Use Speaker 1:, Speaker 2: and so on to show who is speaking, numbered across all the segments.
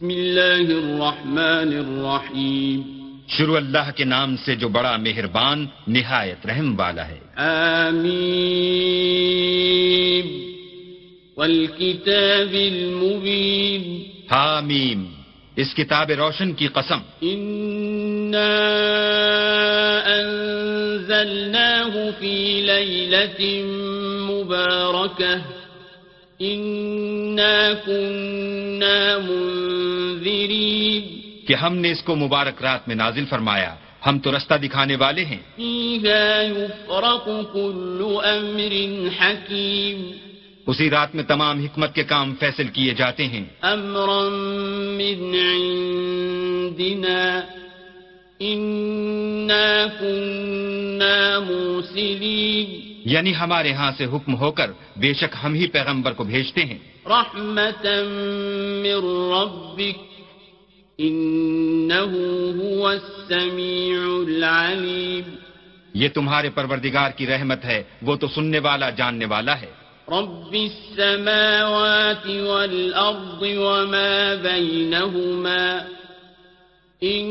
Speaker 1: بسم اللہ الرحمن الرحیم
Speaker 2: شروع اللہ کے نام سے جو بڑا مہربان نہایت رحم والا ہے.
Speaker 1: آمین والکتاب المبین
Speaker 2: حامیم اس کتاب روشن کی قسم.
Speaker 1: انا انزلناه فی لیلۃ مبارکہ انا كنا منذرین
Speaker 2: کہ ہم نے اس کو مبارک رات میں نازل فرمایا، ہم تو رستہ دکھانے والے ہیں.
Speaker 1: فیہا یفرق کل امر حکیم
Speaker 2: اسی رات میں تمام حکمت کے کام فیصل کیے جاتے ہیں.
Speaker 1: امرا من عندنا انا كنا مرسلین
Speaker 2: یعنی ہمارے ہاں سے حکم ہو کر بے شک ہم ہی پیغمبر کو بھیجتے ہیں.
Speaker 1: رحمتا من ربک انه هو السمیع العلیم
Speaker 2: یہ تمہارے پروردگار کی رحمت ہے، وہ تو سننے والا جاننے والا ہے.
Speaker 1: رب السماوات والارض وما بینهما ان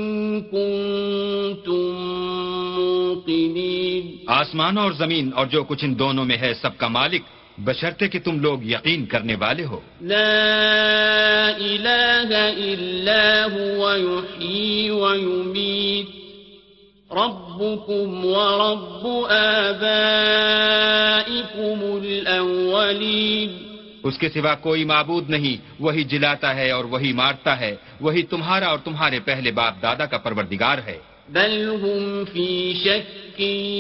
Speaker 1: کنتم موقنین
Speaker 2: آسمان اور زمین اور جو کچھ ان دونوں میں ہے سب کا مالک، بشرطے کہ تم لوگ یقین کرنے والے ہو.
Speaker 1: لا الہ الا هو یحیی ویمیت ربکم ورب آبائکم الاولین
Speaker 2: اس کے سوا کوئی معبود نہیں، وہی جلاتا ہے اور وہی مارتا ہے، وہی تمہارا اور تمہارے پہلے باپ دادا کا پروردگار ہے.
Speaker 1: بل هم فی شک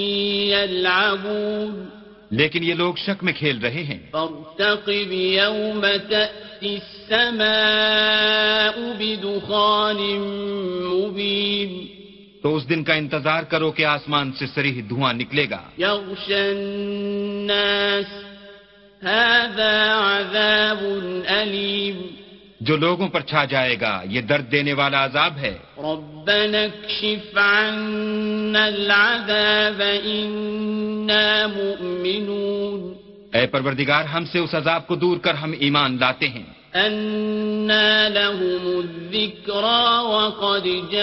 Speaker 1: یلعبون
Speaker 2: لیکن یہ لوگ شک میں کھیل رہے ہیں.
Speaker 1: فارتقب یوم تأتی السماء بدخان مبین
Speaker 2: تو اس دن کا انتظار کرو کہ آسمان سے صریح دھواں نکلے گا.
Speaker 1: یغشی الناس هذا عذاب علیم
Speaker 2: جو لوگوں پر چھا جائے گا یہ درد دینے والا عذاب ہے.
Speaker 1: ربنا اکشف عنا العذاب انا مؤمنون
Speaker 2: اے پروردگار ہم سے اس عذاب کو دور کر، ہم ایمان لاتے ہیں.
Speaker 1: انا لهم الذکرى وقد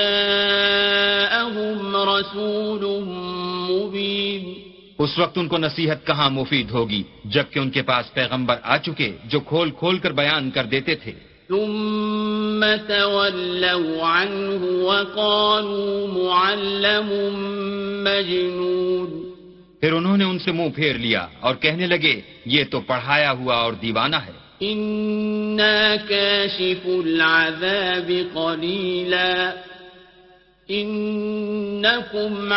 Speaker 1: جاءهم رسول مبین
Speaker 2: اس وقت ان کو نصیحت کہاں مفید ہوگی جبکہ ان کے پاس پیغمبر آ چکے جو کھول کھول کر بیان کر دیتے تھے.
Speaker 1: ثم تولوا عنه وقالوا معلم مجنون
Speaker 2: پھر انہوں نے ان سے منہ پھیر لیا اور کہنے لگے یہ تو پڑھایا ہوا اور دیوانہ ہے.
Speaker 1: انا کاشف العذاب قلیلا انکم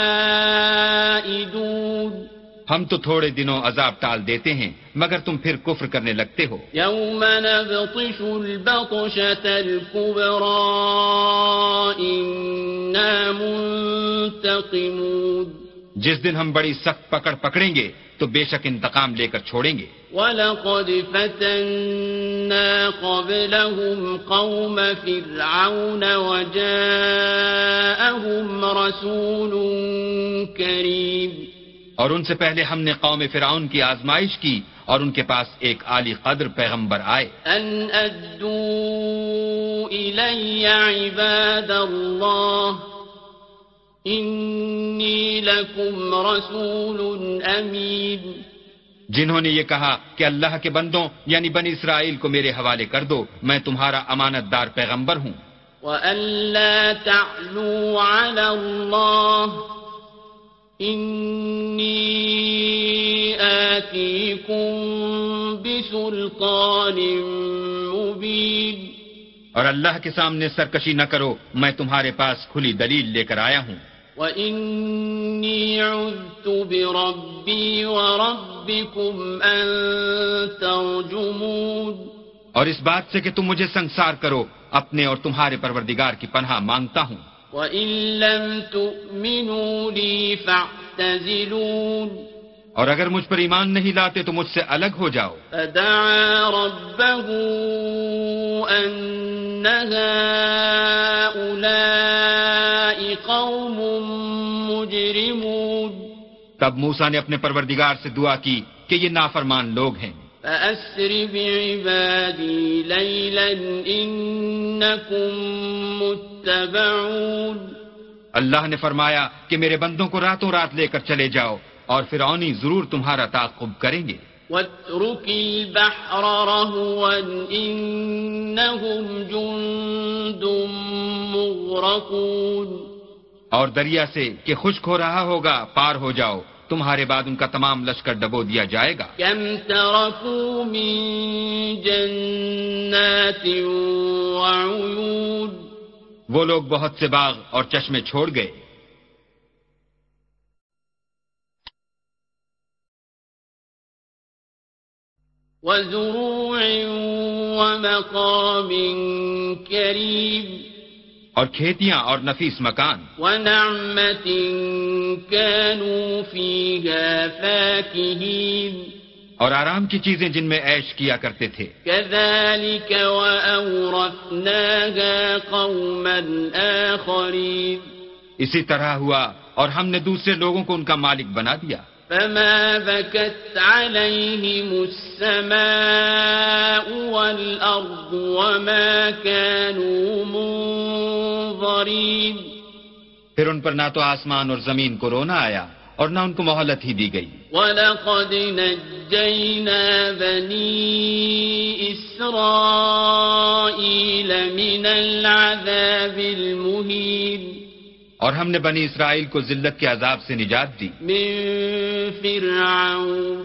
Speaker 1: عائدون
Speaker 2: ہم تو تھوڑے دنوں عذاب ٹال دیتے ہیں مگر تم پھر کفر کرنے لگتے ہو.
Speaker 1: یوم نبطش البطشة الكبرى انا منتقمون
Speaker 2: جس دن ہم بڑی سخت پکڑ پکڑیں گے تو بے شک انتقام لے کر چھوڑیں گے.
Speaker 1: وَلَقَدْ فَتَنَّا قَبْلَهُمْ قَوْمَ فِرْعَوْنَ وَجَاءَهُمْ رَسُولٌ كَرِيمٌ
Speaker 2: اور ان سے پہلے ہم نے قوم فرعون کی آزمائش کی اور ان کے پاس ایک عالی قدر پیغمبر آئے.
Speaker 1: أَنْ أَدُّوا إِلَيَّ عِبَادَ اللَّهِ إِنِّي لَكُمْ رَسُولٌ أَمِينٌ
Speaker 2: جنہوں نے یہ کہا کہ اللہ کے بندوں یعنی بنی اسرائیل کو میرے حوالے کر دو، میں تمہارا امانت دار پیغمبر ہوں.
Speaker 1: وَأَلَّا تَعْلُوا عَلَى اللَّهِ إِنِّي آتِيكُم بِسُلْطَانٍ مُّبِينٍ
Speaker 2: اور اللہ کے سامنے سرکشی نہ کرو، میں تمہارے پاس کھلی دلیل لے کر آیا ہوں.
Speaker 1: وَإِنِّي عُذْتُ بِرَبِّي وَرَبِّكُمْ أَن تَرْجُمُونِ
Speaker 2: اور اس بات سے کہ تم مجھے سنسار کرو، اپنے اور تمہارے پروردگار کی پناہ مانگتا ہوں.
Speaker 1: وَإِن لَّمْ تُؤْمِنُوا لِي فَاعْتَزِلُونِ
Speaker 2: اور اگر مجھ پر ایمان نہیں لاتے تو مجھ سے الگ ہو جاؤ.
Speaker 1: فَدَعَا رَبَّهُ أَنَّ هَٰؤُلَاءِ قَوْمٌ مُّجْرِمُونَ
Speaker 2: تب موسیٰ نے اپنے پروردگار سے دعا کی کہ یہ نافرمان لوگ ہیں.
Speaker 1: فأسر بعبادي ليلا إنكم متبعون.
Speaker 2: اللہ نے فرمایا کہ میرے بندوں کو راتوں رات لے کر چلے جاؤ اور فرعونی ضرور تمہارا تعاقب کریں گے.
Speaker 1: واترك البحر رهوا إنهم جند مغرقون.
Speaker 2: اور دریا سے کہ خشک ہو رہا ہوگا پار ہو جاؤ، تمہارے بعد ان کا تمام لشکر ڈبو دیا جائے گا.
Speaker 1: كم تركوا من جنات وعيون.
Speaker 2: وہ لوگ بہت سے باغ اور چشمے چھوڑ گئے.
Speaker 1: وزروع ومقام كريم.
Speaker 2: اور کھیتیاں اور نفیس مکان.
Speaker 1: ونعمة كانوا فيها فاكهين.
Speaker 2: اور آرام کی چیزیں جن میں عیش کیا کرتے تھے.
Speaker 1: كذلك وأورثناها قوما آخرين.
Speaker 2: اسی طرح ہوا اور ہم نے دوسرے لوگوں کو ان کا مالک بنا دیا.
Speaker 1: فما بكت عليهم السماء والأرض وما كانوا منظرين.
Speaker 2: پھر ان پر نہ تو آسمان اور زمین کو رونا آیا اور نہ ان کو مہلت ہی دی گئی.
Speaker 1: وَلَقَدْ نَجَّيْنَا بَنِي إِسْرَائِيلَ مِنَ الْعَذَابِ الْمُهِينِ.
Speaker 2: اور ہم نے بنی اسرائیل کو ذلت کے عذاب سے نجات دی.
Speaker 1: من فرعون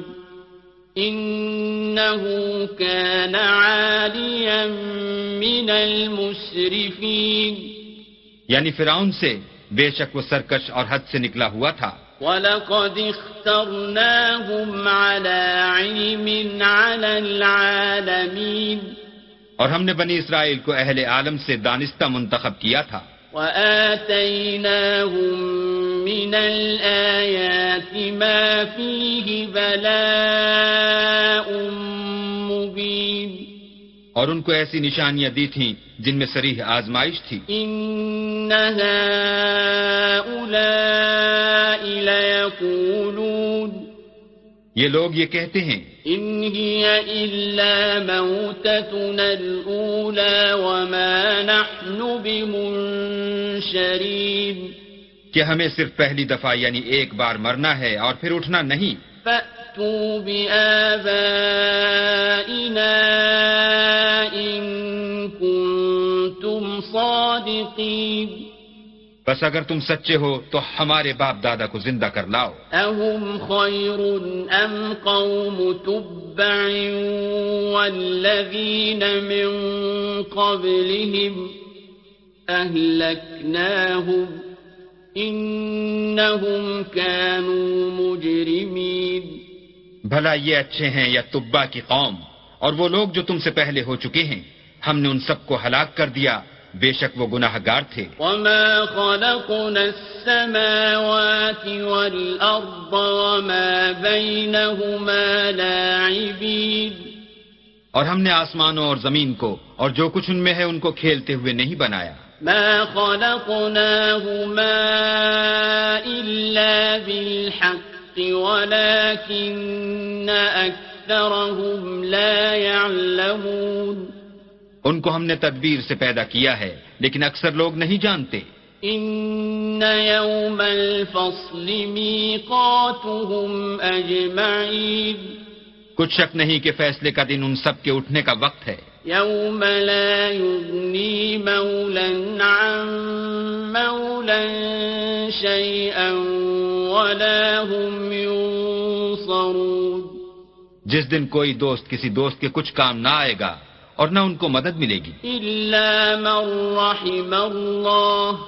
Speaker 1: إنه كان عاليا من المسرفين.
Speaker 2: یعنی فرعون سے بے شک وہ سرکش اور حد سے نکلا ہوا تھا.
Speaker 1: وَلَقَدِ اخْتَرْنَاهُمْ عَلَى عِلْمٍ عَلَى الْعَالَمِينَ.
Speaker 2: اور ہم نے بنی اسرائیل کو اہل عالم سے دانستہ منتخب کیا تھا.
Speaker 1: وَآتَيْنَاهُمْ مِنَ الْآيَاتِ مَا فِيهِ بَلَاءٌ مُبِينٌ.
Speaker 2: اور ان کو ایسی نشانیاں دی تھیں جن میں صریح آزمائش تھی.
Speaker 1: إِنَّ هَؤُلَاءِ لَيَقُولُونَ.
Speaker 2: یہ لوگ یہ کہتے ہیں
Speaker 1: إِنْ هِيَ إِلَّا مَوْتَتُنَا الْأُولَى وَمَا نَحْنُ بِمُنشَرِينَ.
Speaker 2: کہ ہمیں صرف پہلی دفعہ یعنی ایک بار مرنا ہے اور پھر اٹھنا نہیں.
Speaker 1: فَأْتُوا بِآبَائِنَا إِن كُنتُمْ صَادِقِينَ.
Speaker 2: بس اگر تم سچے ہو تو ہمارے باپ دادا کو زندہ کر لاؤ.
Speaker 1: أَهُمْ خَيْرٌ أَمْ قَوْمُ تُبَّعٍ وَالَّذِينَ مِن قَبْلِهِمْ أَهْلَكْنَاهُمْ إِنَّهُمْ كَانُوا مُجْرِمِينَ.
Speaker 2: بھلا یہ اچھے ہیں یا تبا کی قوم اور وہ لوگ جو تم سے پہلے ہو چکے ہیں، ہم نے ان سب کو ہلاک کر دیا، بے شک وہ گناہ گار تھے.
Speaker 1: وَمَا خَلَقْنَا السَّمَاوَاتِ وَالْأَرْضَ وَمَا بَيْنَهُمَا لَاعِبِينَ.
Speaker 2: اور ہم نے آسمانوں اور زمین کو اور جو کچھ ان میں ہے ان کو کھیلتے ہوئے نہیں بنایا.
Speaker 1: مَا خَلَقْنَاهُمَا إِلَّا بِالْحَقِّ وَلَكِنَّ أَكْثَرَهُمْ لَا يَعْلَمُونَ.
Speaker 2: ان کو ہم نے تدبیر سے پیدا کیا ہے لیکن اکثر لوگ نہیں جانتے.
Speaker 1: إِنَّ يَوْمَ الْفَصْلِ مِيقَاتُهُمْ أَجْمَعِينَ.
Speaker 2: کچھ شک نہیں کہ فیصلے کا دن ان سب کے اٹھنے کا وقت ہے.
Speaker 1: يَوْمَ لَا يُغْنِي مَوْلًى عَن مَّوْلًى شَيْئًا وَلَا هُمْ يُنصَرُونَ.
Speaker 2: جس دن کوئی دوست کسی دوست کے کچھ کام نہ آئے گا اور نہ ان کو مدد ملے گی.
Speaker 1: إِلَّا مَن رَّحِمَ اللَّهُ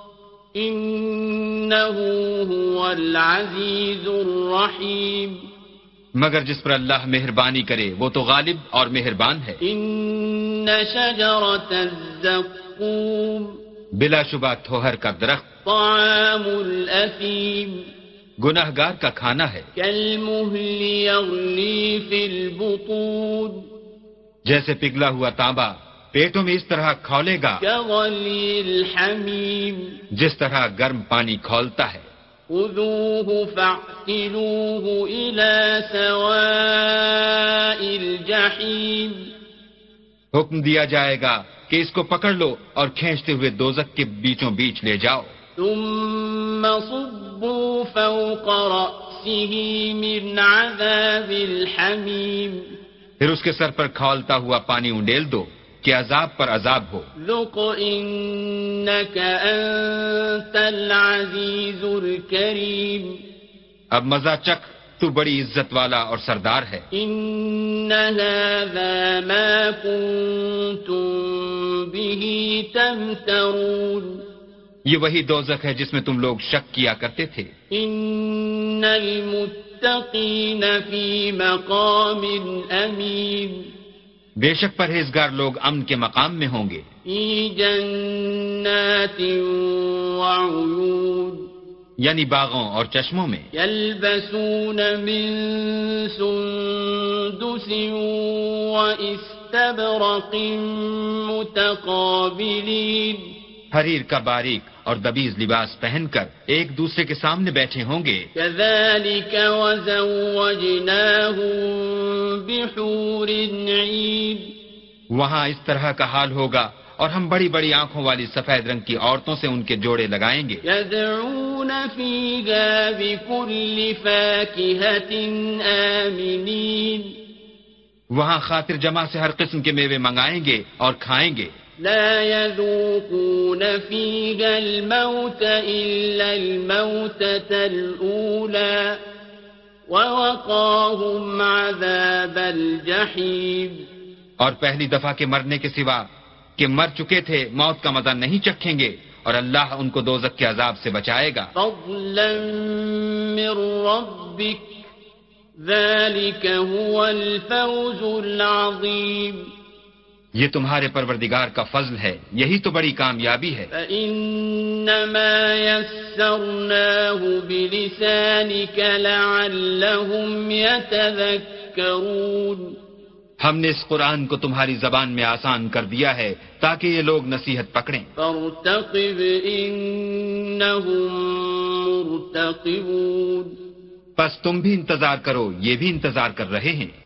Speaker 1: إِنَّهُ هُوَ الْعَزِيزُ الرَّحِيمُ.
Speaker 2: مگر جس پر اللہ مہربانی کرے وہ تو غالب اور مہربان ہے.
Speaker 1: إِنَّ شَجَرَتَ الزَّقُّومِ
Speaker 2: بلا شبہ تھوہر کا درخت
Speaker 1: طَعَامُ الْأَثِيمِ.
Speaker 2: گناہ گار کا کھانا ہے.
Speaker 1: كَالْمُهْلِ يَغْلِي فِي الْبُطُونِ.
Speaker 2: جیسے پگھلا ہوا تانبا پیٹوں میں اس طرح کھولے گا
Speaker 1: كَغَلْيِ الْحَمِيمِ.
Speaker 2: جس طرح گرم پانی کھولتا ہے.
Speaker 1: خذوه فاعتلوه إلى سواء الجحيم
Speaker 2: حکم دیا جائے گا کہ اس کو پکڑ لو اور کھینچتے ہوئے دوزخ کے بیچوں بیچ لے جاؤ.
Speaker 1: ثم صبوا فوق رأسه من عذاب الحميم
Speaker 2: پھر اس کے سر پر کھولتا ہوا پانی انڈیل دو کہ عذاب پر عذاب ہو.
Speaker 1: ذق إنك أنت العزيز الكريم
Speaker 2: اب مزہ چکھ، تو بڑی عزت والا اور سردار ہے.
Speaker 1: إن هذا ما كنتم به تمترون
Speaker 2: یہ وہی دوزخ ہے جس میں تم لوگ شک کیا کرتے تھے.
Speaker 1: إن المتقين في مقام أمين
Speaker 2: بے شک پرہیزگار لوگ امن کے مقام میں ہوں گے.
Speaker 1: في جنات وعيون
Speaker 2: یعنی باغوں اور چشموں میں.
Speaker 1: يلبسون من سندس واستبرق متقابلين
Speaker 2: حریر کا باریک اور دبیز لباس پہن کر ایک دوسرے کے سامنے بیٹھے ہوں گے.
Speaker 1: كذلك وزوجناهم بحور عين
Speaker 2: وہاں اس طرح کا حال ہوگا اور ہم بڑی بڑی آنکھوں والی سفید رنگ کی عورتوں سے ان کے جوڑے لگائیں گے.
Speaker 1: يدعون فيها بكل فاكهة آمنين
Speaker 2: وہاں خاطر جمع سے ہر قسم کے میوے منگائیں گے اور کھائیں گے.
Speaker 1: لا يذوقون فيها الموت إلا الموتة الأولى ووقاهم عذاب الجحيم
Speaker 2: اور پہلی دفعہ کے مرنے کے سوا کہ مر چکے تھے موت کا مزہ نہیں چکھیں گے اور اللہ ان کو دوزخ کے عذاب سے بچائے گا.
Speaker 1: فضلا من ربك ذلك هو الفوز العظيم
Speaker 2: یہ تمہارے پروردگار کا فضل ہے، یہی تو بڑی کامیابی ہے.
Speaker 1: فإنما يسرناه بلسانك لعلهم يتذكرون
Speaker 2: ہم نے اس قرآن کو تمہاری زبان میں آسان کر دیا ہے تاکہ یہ لوگ نصیحت پکڑیں.
Speaker 1: فارتقب إنهم مرتقبون
Speaker 2: پس تم بھی انتظار کرو، یہ بھی انتظار کر رہے ہیں.